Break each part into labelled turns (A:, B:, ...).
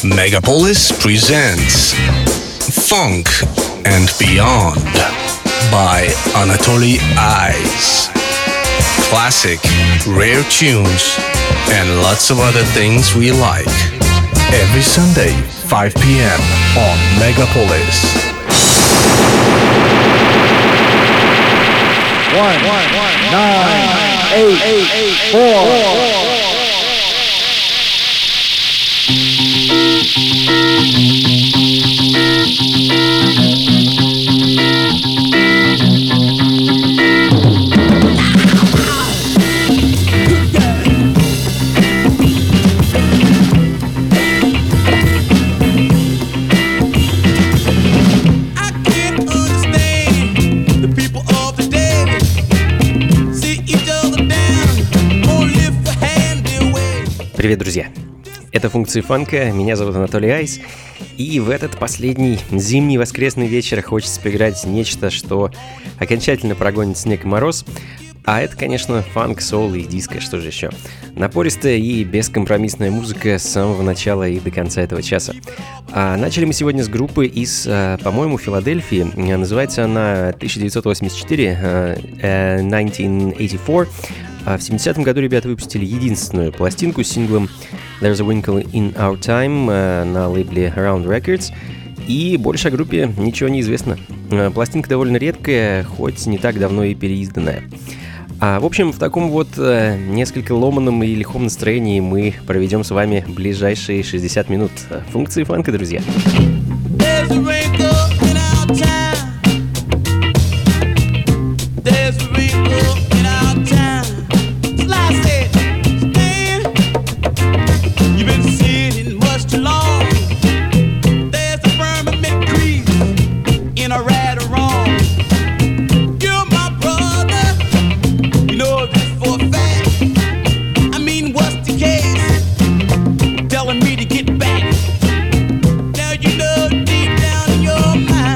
A: Megapolis presents Funk and Beyond by Anatoly Ice. Classic, rare tunes, and lots of other things we like. Every Sunday, 5 p.m. on Megapolis.
B: 1, 9, 8, 4.
C: Привет, друзья! Это «Функции фанка», меня зовут Анатолий Айс, и в этот последний зимний воскресный вечер хочется поиграть нечто, что окончательно прогонит снег и мороз, а это, конечно, фанк, соул и диско, что же еще. Напористая и бескомпромиссная музыка с самого начала и до конца этого часа. Начали мы сегодня с группы из, по-моему, Филадельфии. Называется она 1984, 1984. В 70-м году ребята выпустили единственную пластинку с синглом There's a Wrinkle in Our Time на лейбле Around Records, и больше о группе ничего не известно. Пластинка довольно редкая, хоть не так давно и переизданная. В общем, в таком вот несколько ломаном и лихом настроении мы проведем с вами ближайшие 60 минут. Функции фанка, друзья. There's a wrinkle in our time. There's a wrinkle in our time.
D: Telling me to get back. Now you know deep down in your mind.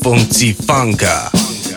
A: Funky Funka.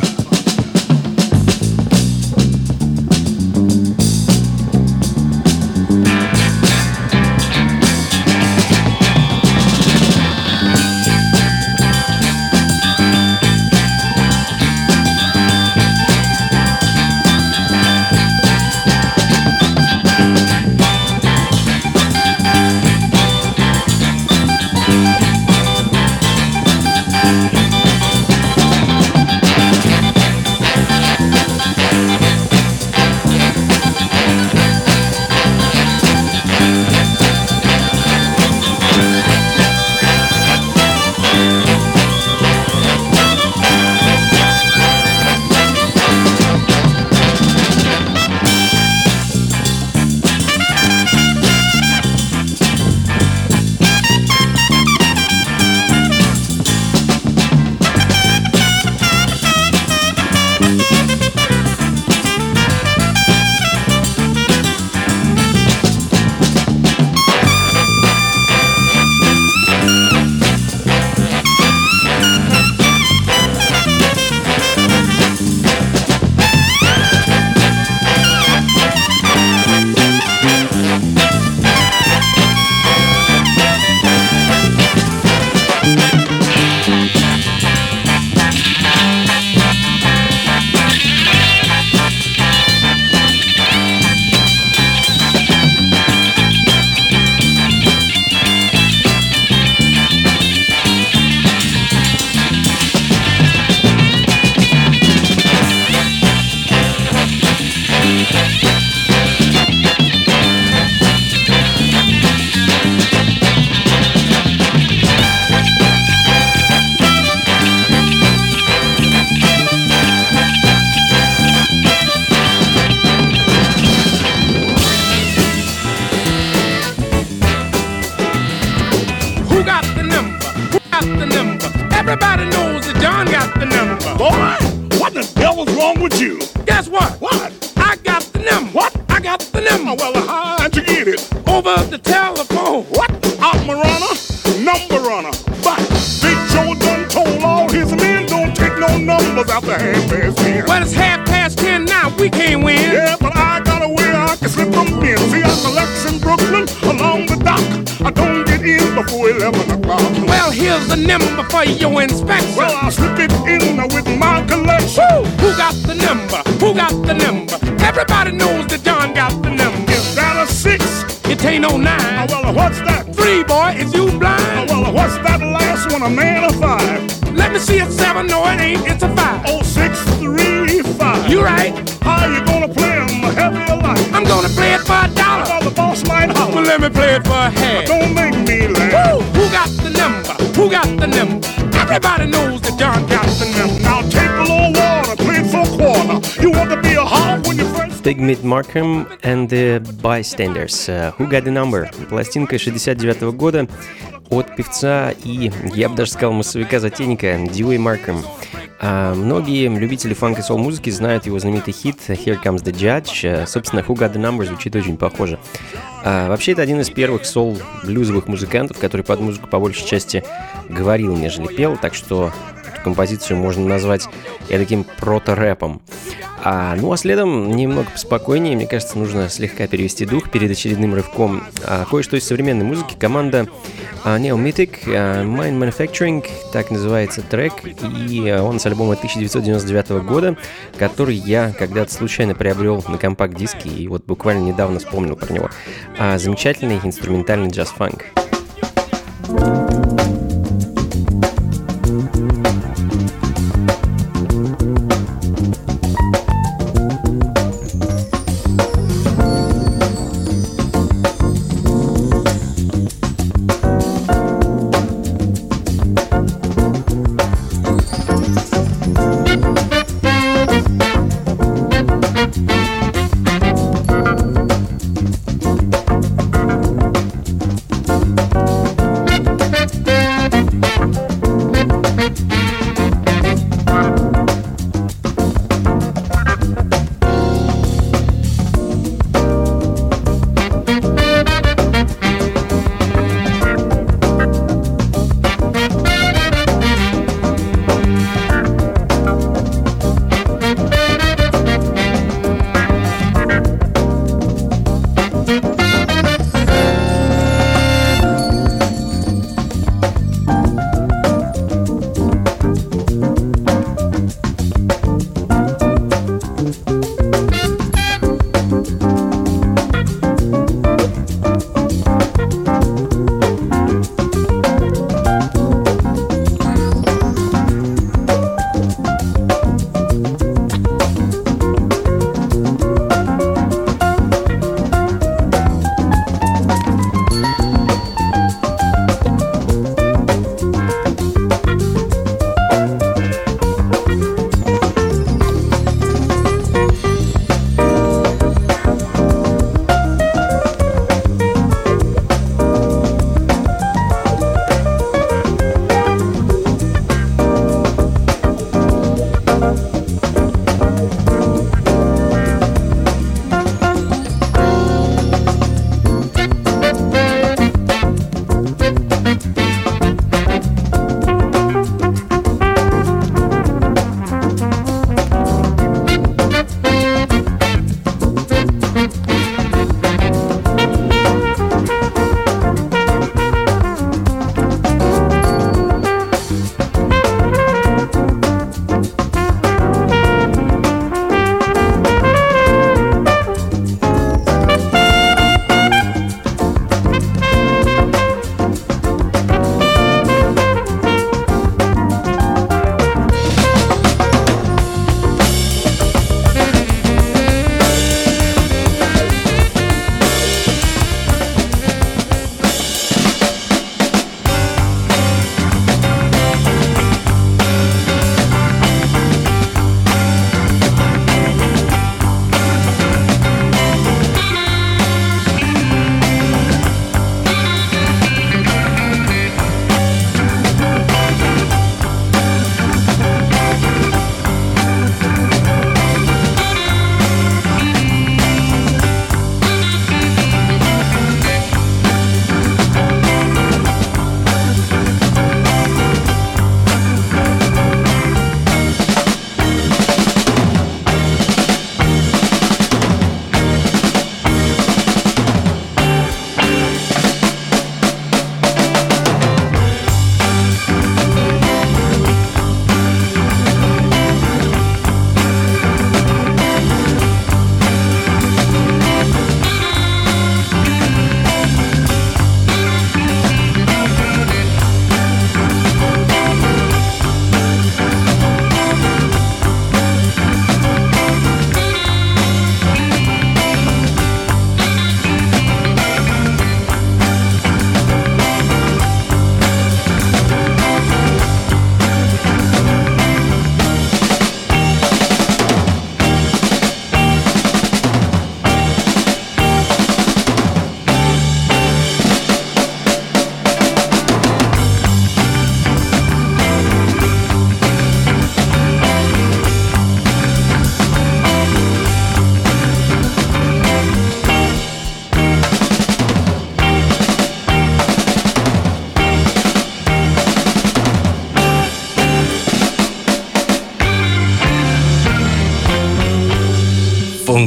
D: Everybody knows that John got the number.
E: Boy, what the devil's wrong with you?
D: Guess what?
E: What?
D: I got the number.
E: What?
D: I got the number.
E: Oh, well, how'd you get it?
D: Over the telephone.
E: What? I'm a runner, number runner. But Big Joe done told all his men don't take no numbers after 10:30.
D: Well, it's 10:30 now. We can't win.
E: Yeah, but I got a way I can slip them in. See, I collects in Brooklyn along the dock. I don't get in before 11 o'clock.
D: Well, here's the number for your inspection.
E: Well, I'll slip it in with my collection.
D: Woo! Who got the number? Who got the number? Everybody knows that John got the number.
E: Is that a 6?
D: It ain't no 9.
E: Oh, well, what's that?
D: 3, boy. Is you
E: Oh,
D: blind?
E: well, what's that last one? A man or 5?
D: Let me see it 7. No, it ain't. It's a 5.
E: Oh, 6, 3, 5.
D: You right.
E: How you gonna play 'em heavy or light?
D: I'm gonna play it for $1.
E: Well, the boss might holler.
D: Well, let me play it for a half.
E: Don't make me laugh.
D: Woo! Who got the number? Who got the number? Everybody knows that John got the number.
E: Now take a little water, play it for a quarter. You want to be a hog when you first...
C: Figment Markham and the Bystanders. Who Got the Number? Пластинка 69 года от певца и, я бы даже сказал, массовика-затейника Дьюи Маркхэм. Многие любители фанк и сол-музыки знают его знаменитый хит «Here Comes the Judge». Собственно, «Who Got the Number» звучит очень похоже. Вообще, это один из первых сол-блюзовых музыкантов, который под музыку по большей части говорил, нежели пел, так что эту композицию можно назвать таким прото-рэпом. Ну а следом немного поспокойнее, мне кажется, нужно слегка перевести дух перед очередным рывком. Кое-что из современной музыки. Команда Neomythic, Mind Manufacturing, так называется трек, и он с альбома 1999 года, который я когда-то случайно приобрел на компакт-диске, и вот буквально недавно вспомнил про него. Замечательный инструментальный джаз-фанк.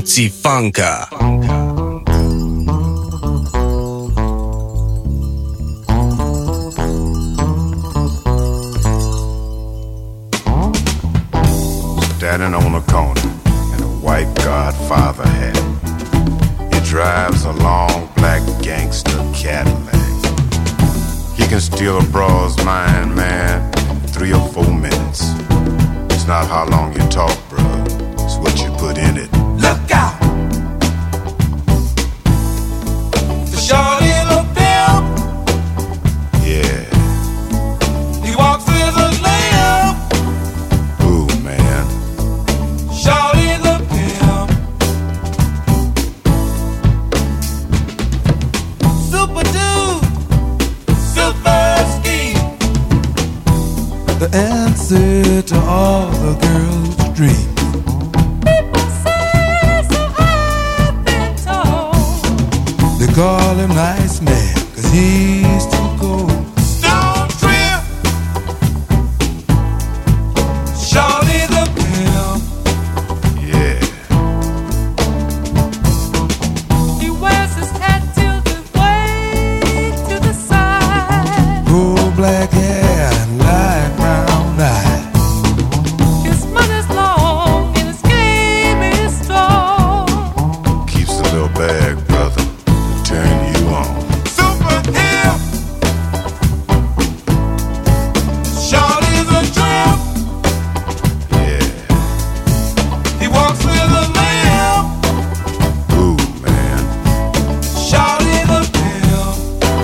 A: Funky Funka.
F: Standing on a corner in a white Godfather hat. He drives a long black gangster Cadillac. He can steal a broad's mind, man, in 3 or 4 minutes. It's not how long you talk, bro. It's what you put in it.
G: Look out! The shorty the pimp.
F: Yeah.
G: He walks with a limp.
F: Ooh, man.
G: Shorty the pimp. Super dude. Super scheme. The answer to all the girls' dreams. They call him Nice Man, 'cause he's too cold. Stone Trip, Shorty the pimp.
F: Yeah.
G: He wears his hat tilted way to the side. Gold black hair and light brown eyes. His money's long and his game is strong.
F: Keeps a little bag, brother. Turn you on.
G: Super hip. Shorty's a tramp.
F: Yeah.
G: He walks with a limp.
F: Ooh, man.
G: Shorty the pimp.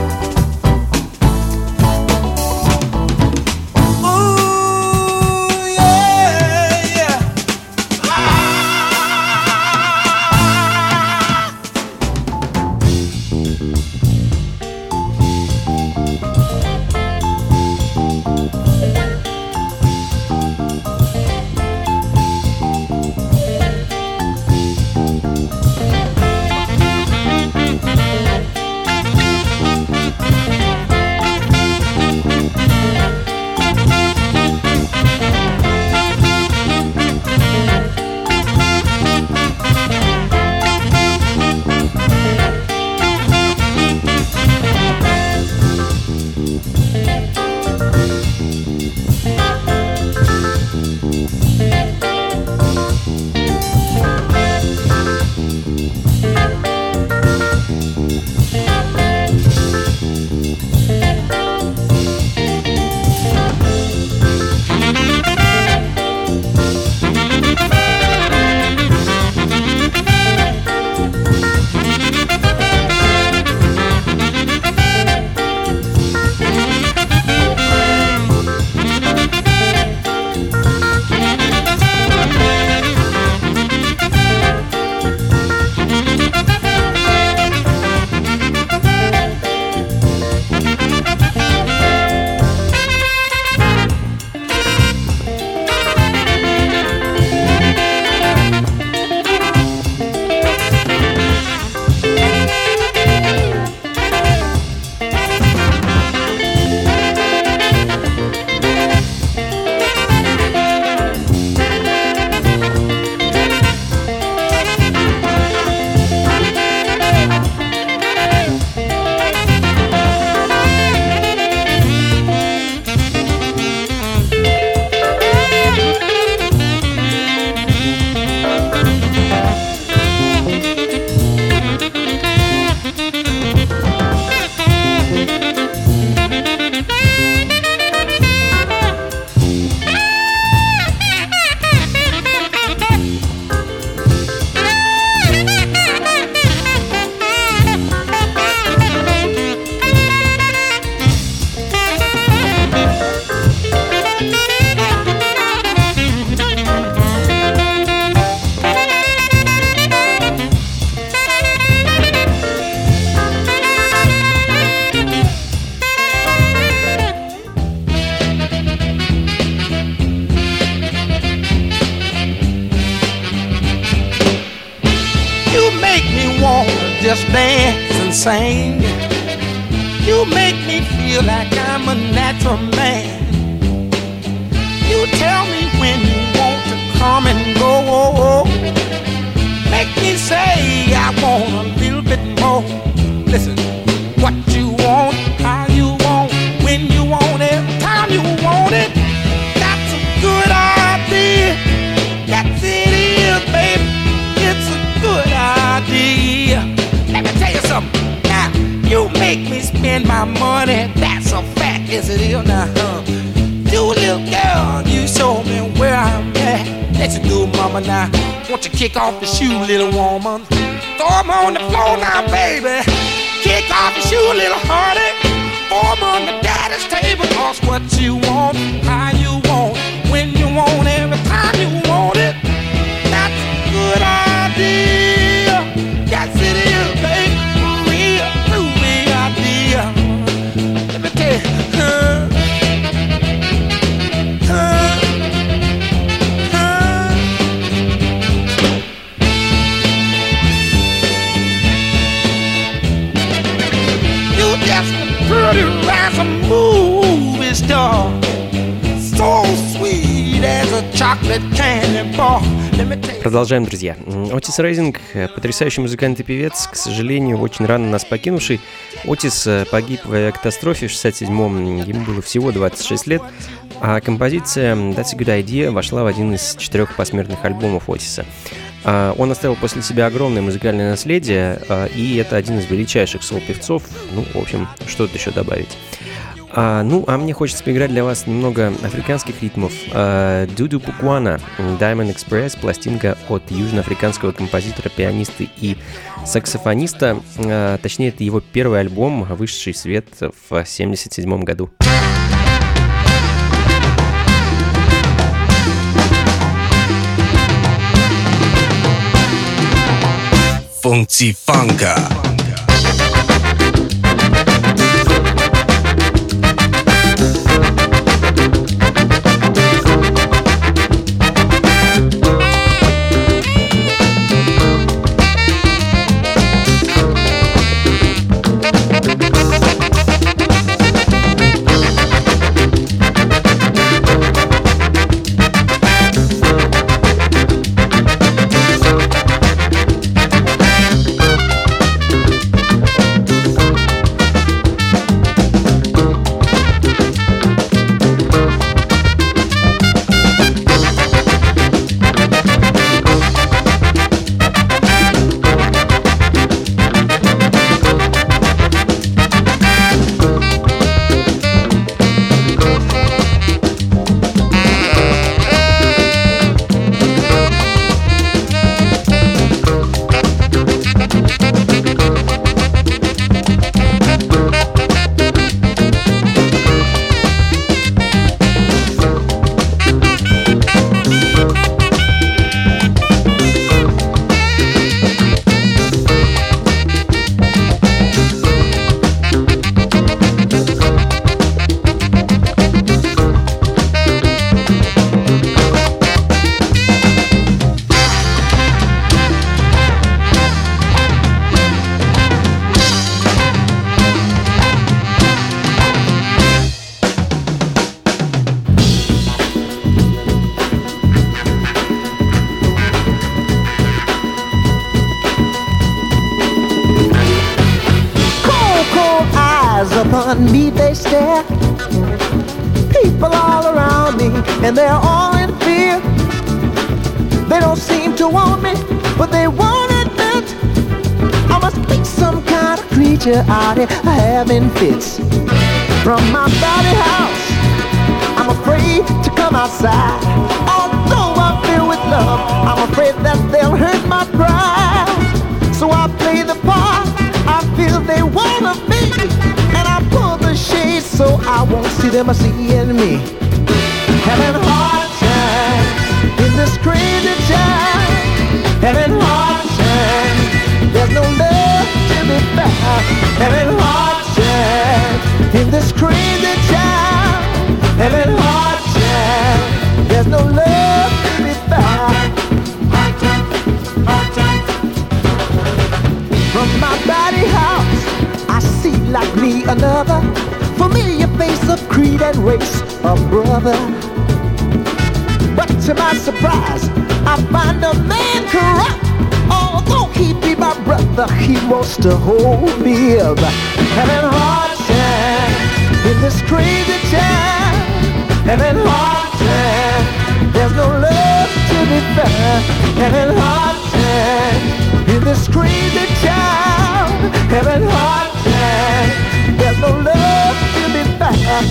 G: Ooh, yeah, yeah.
H: just dance and sing. You make me feel like I'm a natural man. You tell me when you want to come and go. make me say I want a little bit more. Listen, what you want, how you want, when you want it, time you want it. That's a good idea. That's it is, baby. It's a good idea. Let me tell you something. Now, you make me spend my money. That's a fact, yes it is. Now, you little girl, you show me where I'm at. Let you do, mama, now. Won't you kick off the shoe, little woman? Throw 'em on the floor now, baby. Kick off your shoe, little honey. Throw 'em on the daddy's table. Cause what you want, how you want, when you want, every time you want it. That's a good idea. Yes, it is, baby. Real, groovy idea. Let me tell you, pretty as a movie star, so sweet as a chocolate candy bar.
C: Продолжаем, друзья. Отис Рейзинг — потрясающий музыкант и певец, к сожалению, очень рано нас покинувший. Отис погиб в авиакатастрофе в 1967-м, ему было всего 26 лет, а композиция «That's a Good Idea» вошла в один из 4 посмертных альбомов Отиса. Он оставил после себя огромное музыкальное наследие, и это один из величайших соул-певцов. Ну, в общем, что тут еще добавить? А мне хочется поиграть для вас немного африканских ритмов. Дуду Пукуана, Diamond Express, пластинка от южноафриканского композитора, пианиста и саксофониста. Точнее, это его первый альбом, вышедший в свет в 1977 году.
A: Funky Funka.
I: Upon me they stare. People all around me, and they're all in fear. They don't seem to want me, but they won't admit I must be some kind of creature out here having fits. From my body house, I'm afraid to come outside. Although I'm filled with love, I'm afraid that they'll hurt my pride. So I play the part I feel they wanna be, and I pull the shades so I won't see them seeing me. Having hard time in this crazy time. Having hard time, there's no love to be found. Having hard time in this crazy time. Having hard time, there's no love to be found. Hard time, hard time. From my body house, I see like me another familiar face of creed and race, a brother. But to my surprise, I find a man corrupt, all Won't he be my brother? He wants to hold me up. Having a hard time in this crazy town. Having a hard time. There's no love to be found. Having a hard time in this crazy town. Having a hard time. There's no love to be found.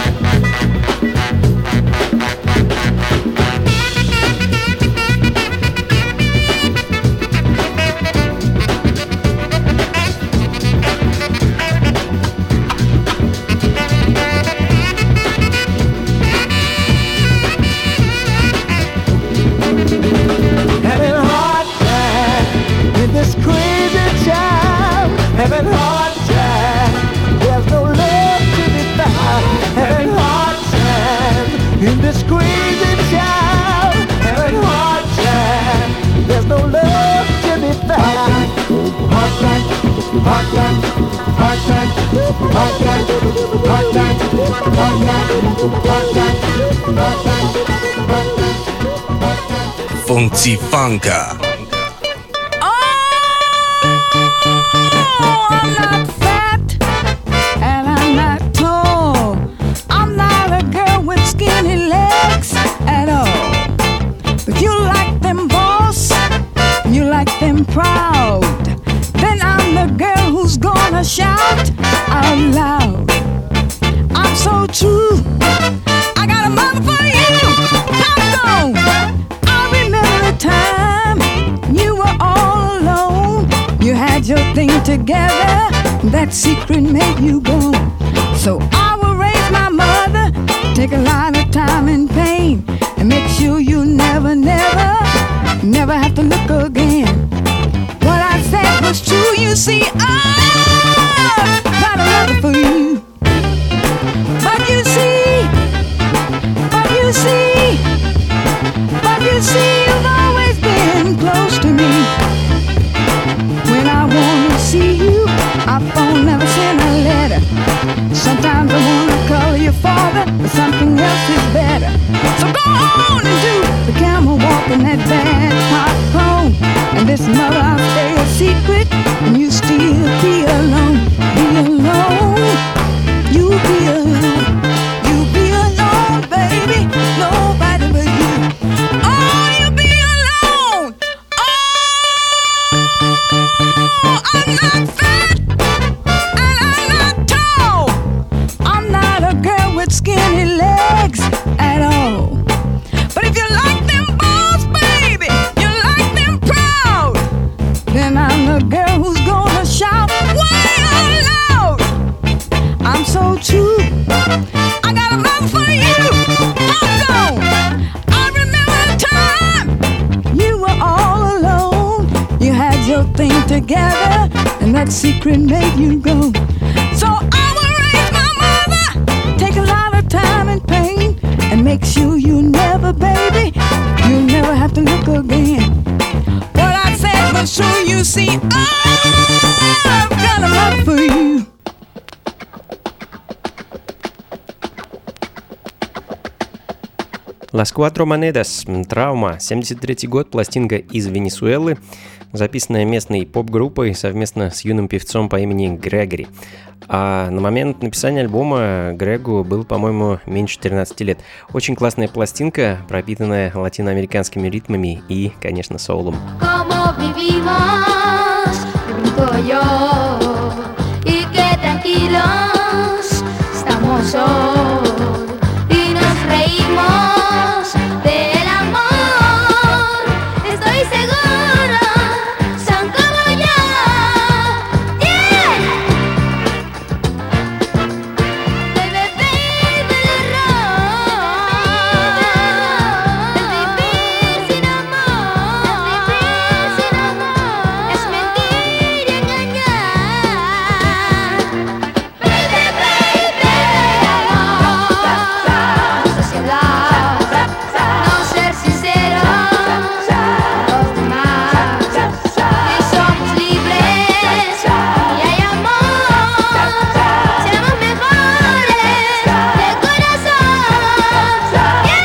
I: Having hard time, there's no love to be found. Having hard time in this crazy town. Having hard time, there's no love to be found. Hard time, hard time, hard time, hard time, hard time, hard time, hard time.
A: Funky Funka.
J: I'm not fat and I'm not tall. I'm not a girl with skinny legs at all. But you like them boss, you like them proud. Then I'm the girl who's gonna shout out loud. I'm so true, I got a mother for you. Come on, I remember the time you were all alone. You had your thing together, that secret made you go. So I will raise my mother, take a lot of time and pain, and make sure you never, never, never have to look again. What I said was true, you see, I've got a love for you. But you see, but you see, but you see, you've always been close to me. When I wanna see you, I phone, never send a letter. Sometimes I wanna call your father, but something else is better. So go on and do the camel walk in that bad popcorn. And this mother, I'll stay a secret, and you still be alone. Be alone, you be alone. You be alone, baby, nobody but you. Oh, you be alone. Oh, I'm not fat and I'm not tall. I'm not a girl with skinny legs at all. But if you like them balls, baby, you like them proud, then I'm the girl who's gonna shout way out loud. I'm so true, I got a love for you. Hold on, I remember the time you were all alone. You had your thing together, and that secret made you go. So I will raise my mother, take a lot of time and pain, and make sure you never, baby, you never have to look again. What I said was true, you see, I've got a love for you.
C: Las Cuatro Monedas, Травма, 73 год, пластинка из Венесуэлы, записанная местной поп-группой совместно с юным певцом по имени Грегори. А на момент написания альбома Грегу был, по-моему, меньше 13 лет. Очень классная пластинка, пропитанная латиноамериканскими ритмами и, конечно, соулом.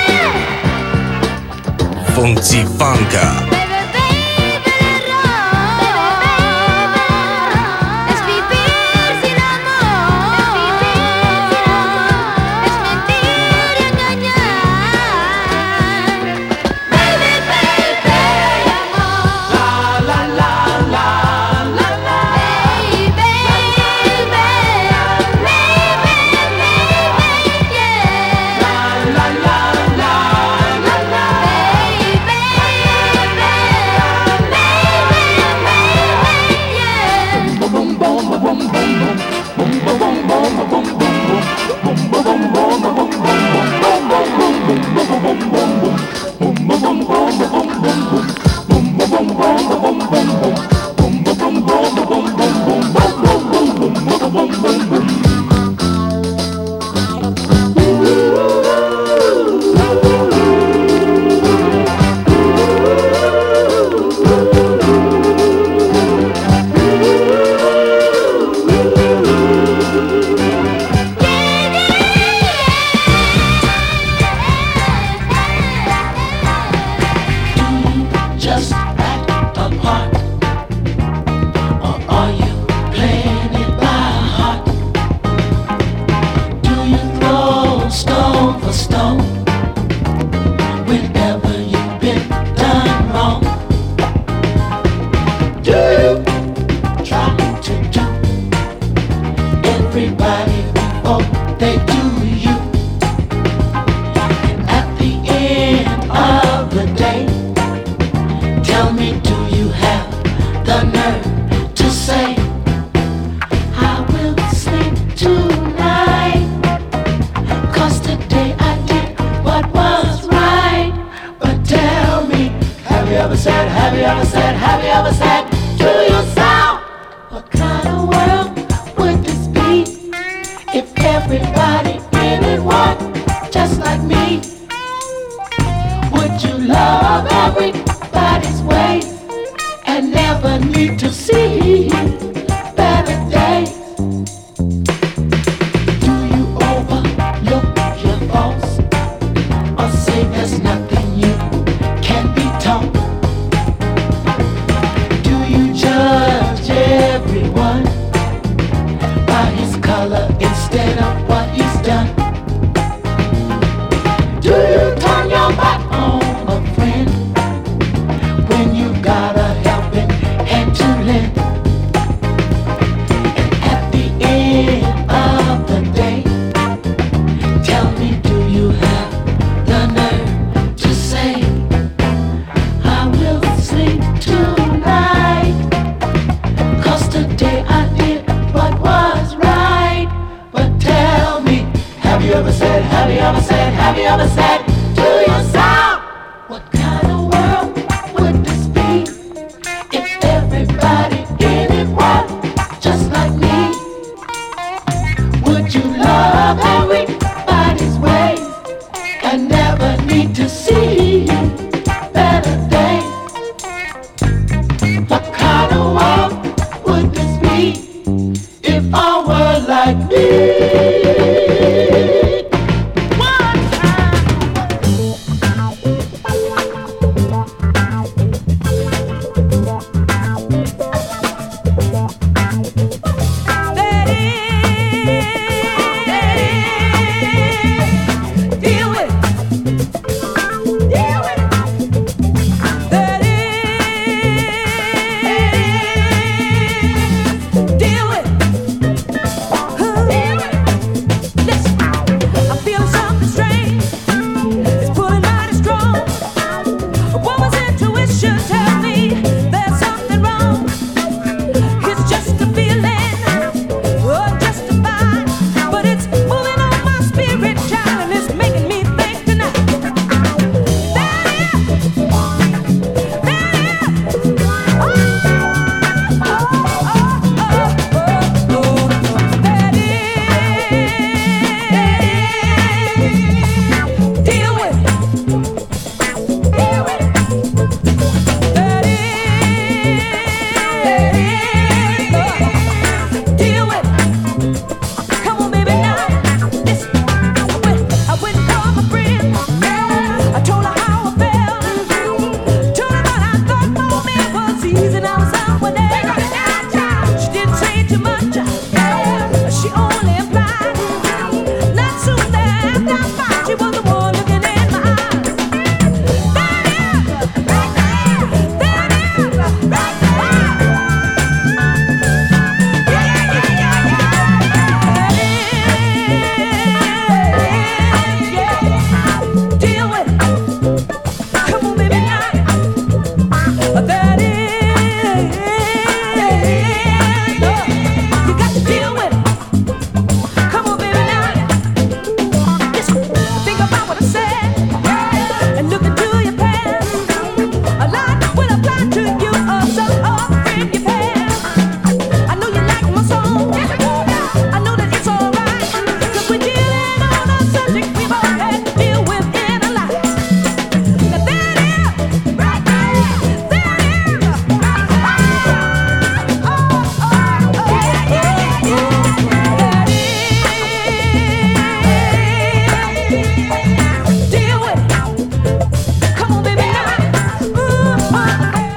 A: Funky Funka.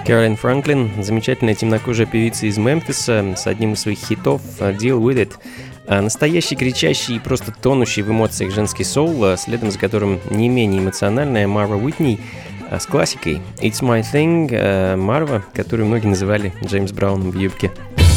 C: Кэролин Франклин, замечательная темнокожая певица из Мемфиса с одним из своих хитов «Deal With It». Настоящий, кричащий и просто тонущий в эмоциях женский соул, следом за которым не менее эмоциональная Марва Уитни с классикой «It's My Thing», Марва, которую многие называли Джеймс Брауном в юбке.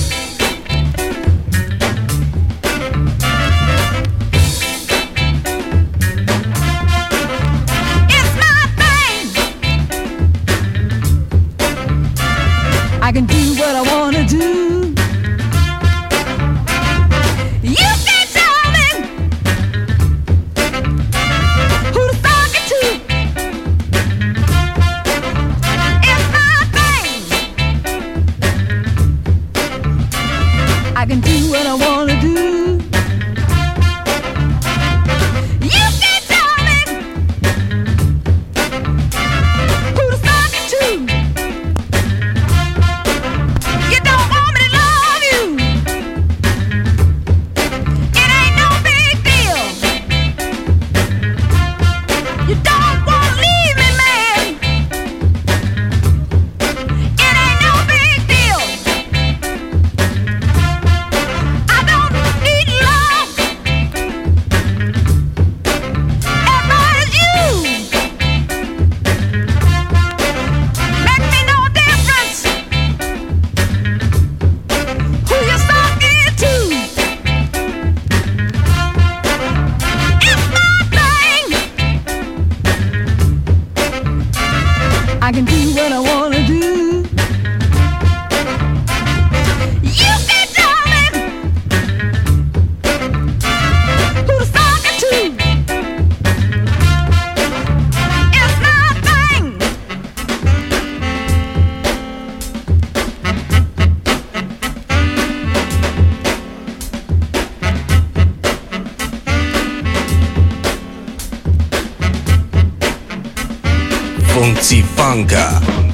J: I can do what I wanna do. You can tell me who to talk it to. It's my thing. I can do what I wanna do. You can tell me who to talk it to. I can do what I wanna do. You can tell me who to talk it to. It's my thing.
A: Funky Funka.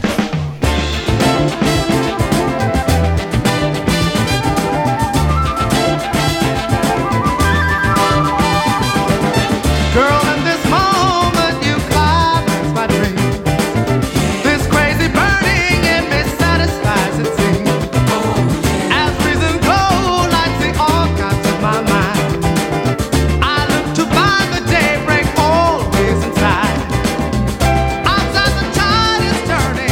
G: Girl, in this moment you climax my dreams. This crazy burning in me satisfies it seems. As reason cold, I see all kinds of my mind. I look to find the daybreak always inside. Outside the tide is turning.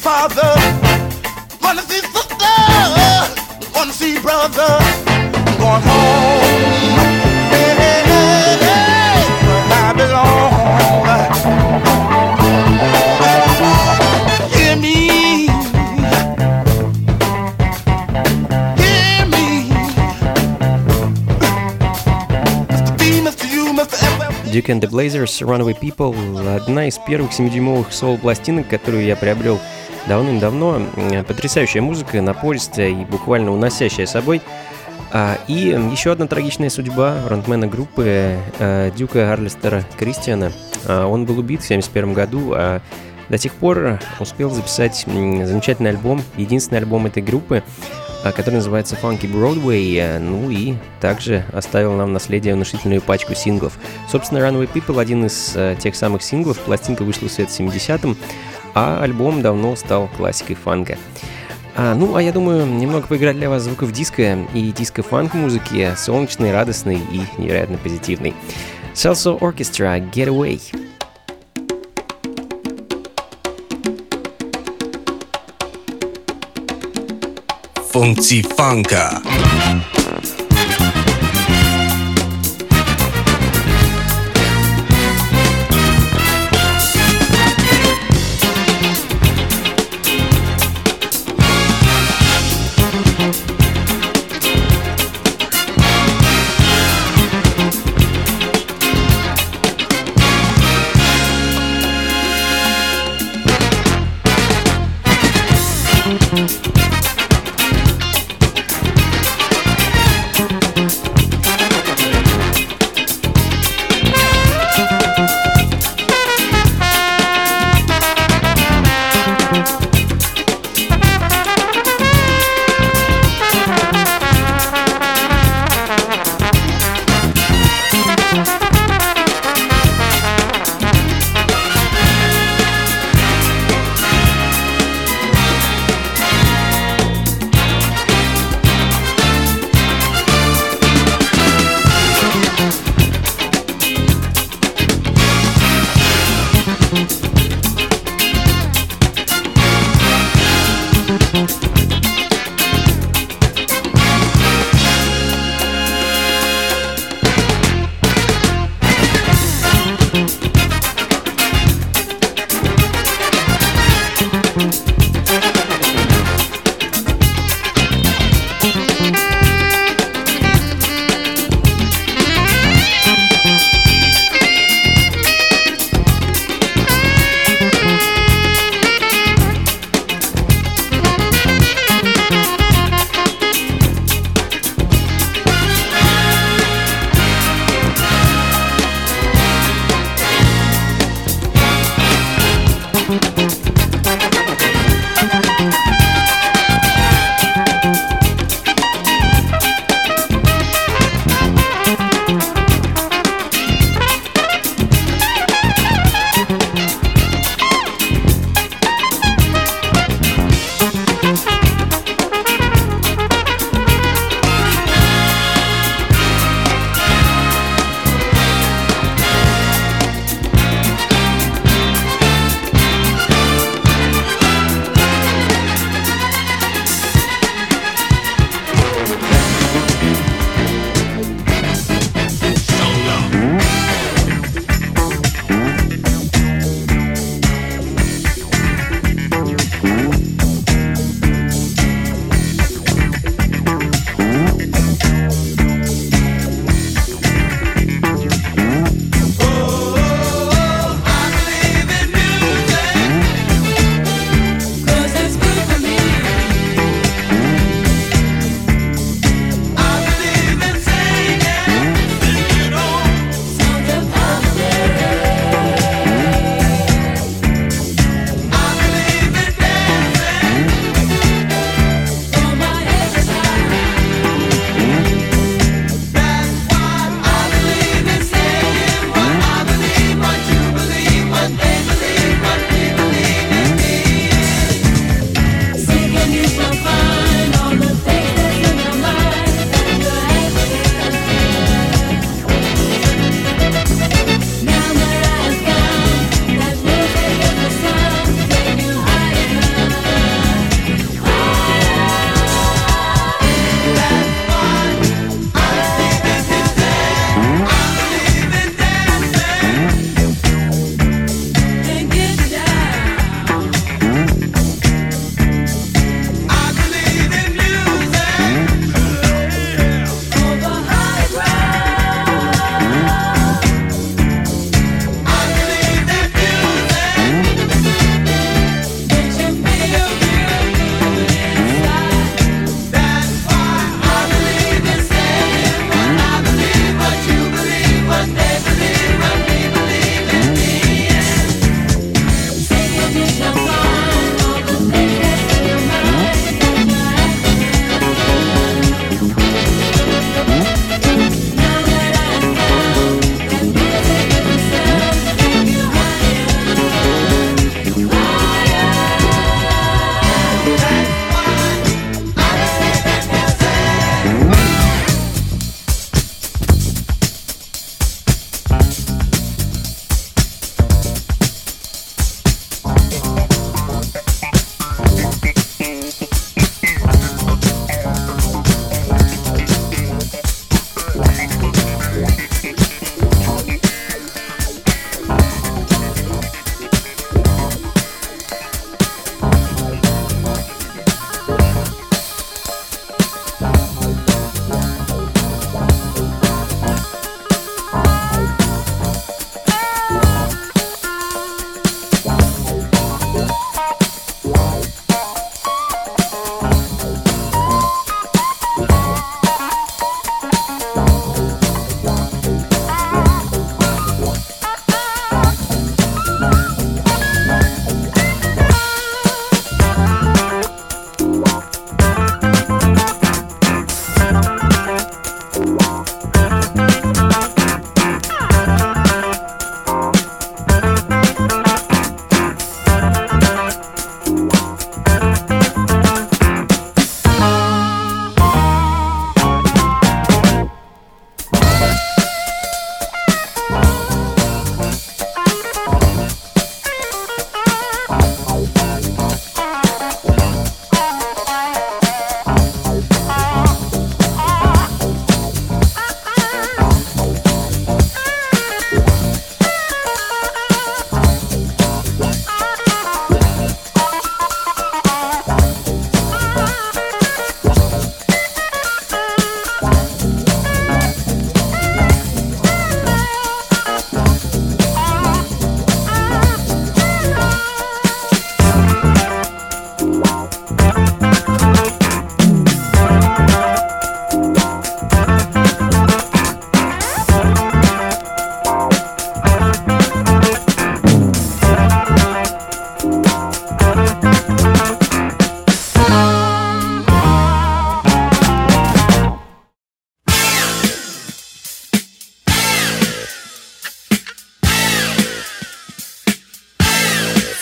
H: father, wanna see sister, wanna see brother, going home, where I belong. Hear me, hear me, Mr. B, Mr. U, Mr. F.
C: Duke and the Blazers, Runaway People — одна из первых 7-дюймовых соул-пластинок, которую я приобрел давным-давно. Потрясающая музыка, напористая и буквально уносящая с собой. И еще одна трагичная судьба фронтмена группы Дюка Арлистера Кристиана. Он был убит в 1971 году, а до тех пор успел записать замечательный альбом, единственный альбом этой группы, который называется Funky Broadway, ну и также оставил нам в наследие внушительную пачку синглов. Собственно, Runaway People — один из тех самых синглов. Пластинка вышла в свет в 70-м, а альбом давно стал классикой фанка. А я думаю, немного поиграть для вас звуков диска и диско-фанк-музыки, солнечной, радостной и невероятно позитивной. Salsa Orchestra, Get Away.
A: Funky Funka.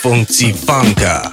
A: Funky Funka.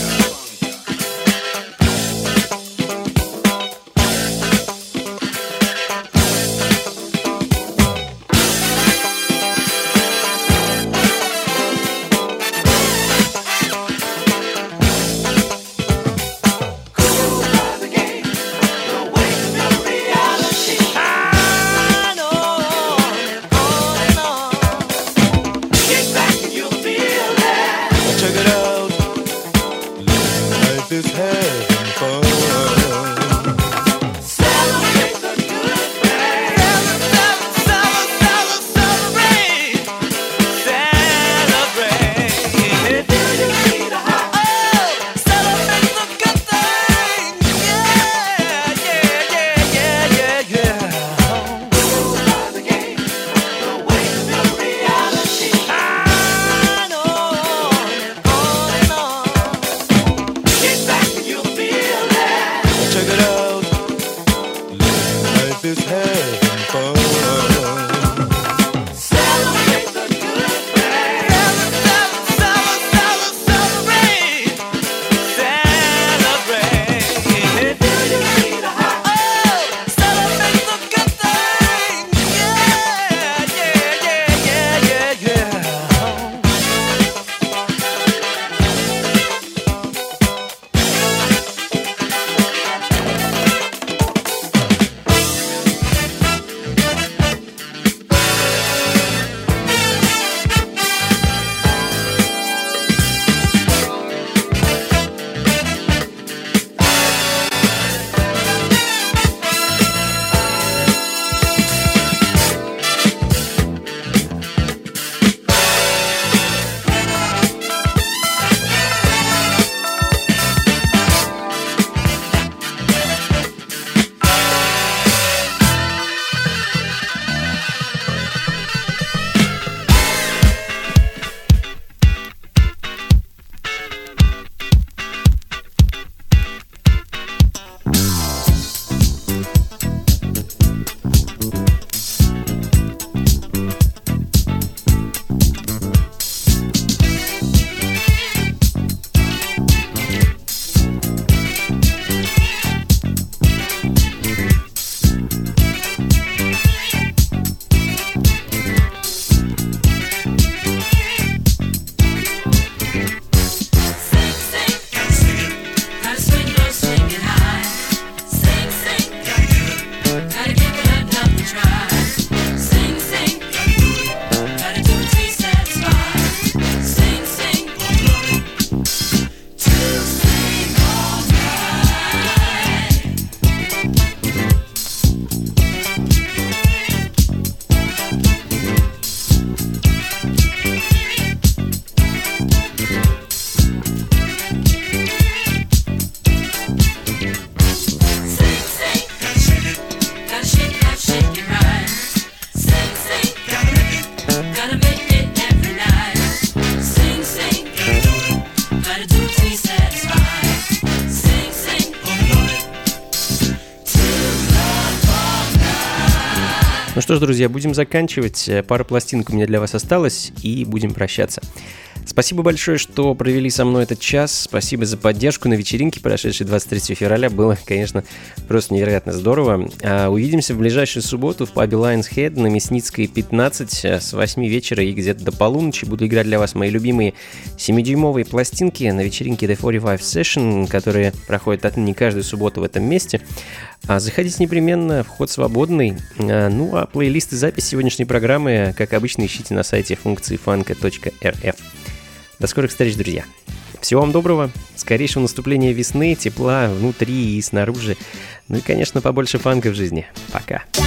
C: Ну что ж, друзья, будем заканчивать. Пара пластинок у меня для вас осталась, и будем прощаться. Спасибо большое, что провели со мной этот час. Спасибо за поддержку на вечеринке, прошедшей 23 февраля. Было, конечно, просто невероятно здорово. Увидимся в ближайшую субботу в пабе Lion's Head на Мясницкой, 15 с 8 вечера и где-то до полуночи. Буду играть для вас мои любимые 7-дюймовые пластинки на вечеринке The 45 Session, которые проходят отныне каждую субботу в этом месте. Заходите непременно, вход свободный. Ну а плейлист и запись сегодняшней программы, как обычно, ищите на сайте funkcifunk.rf. До скорых встреч, друзья. Всего вам доброго, скорейшего наступления весны, тепла внутри и снаружи. Ну и, конечно, побольше фанка в жизни. Пока.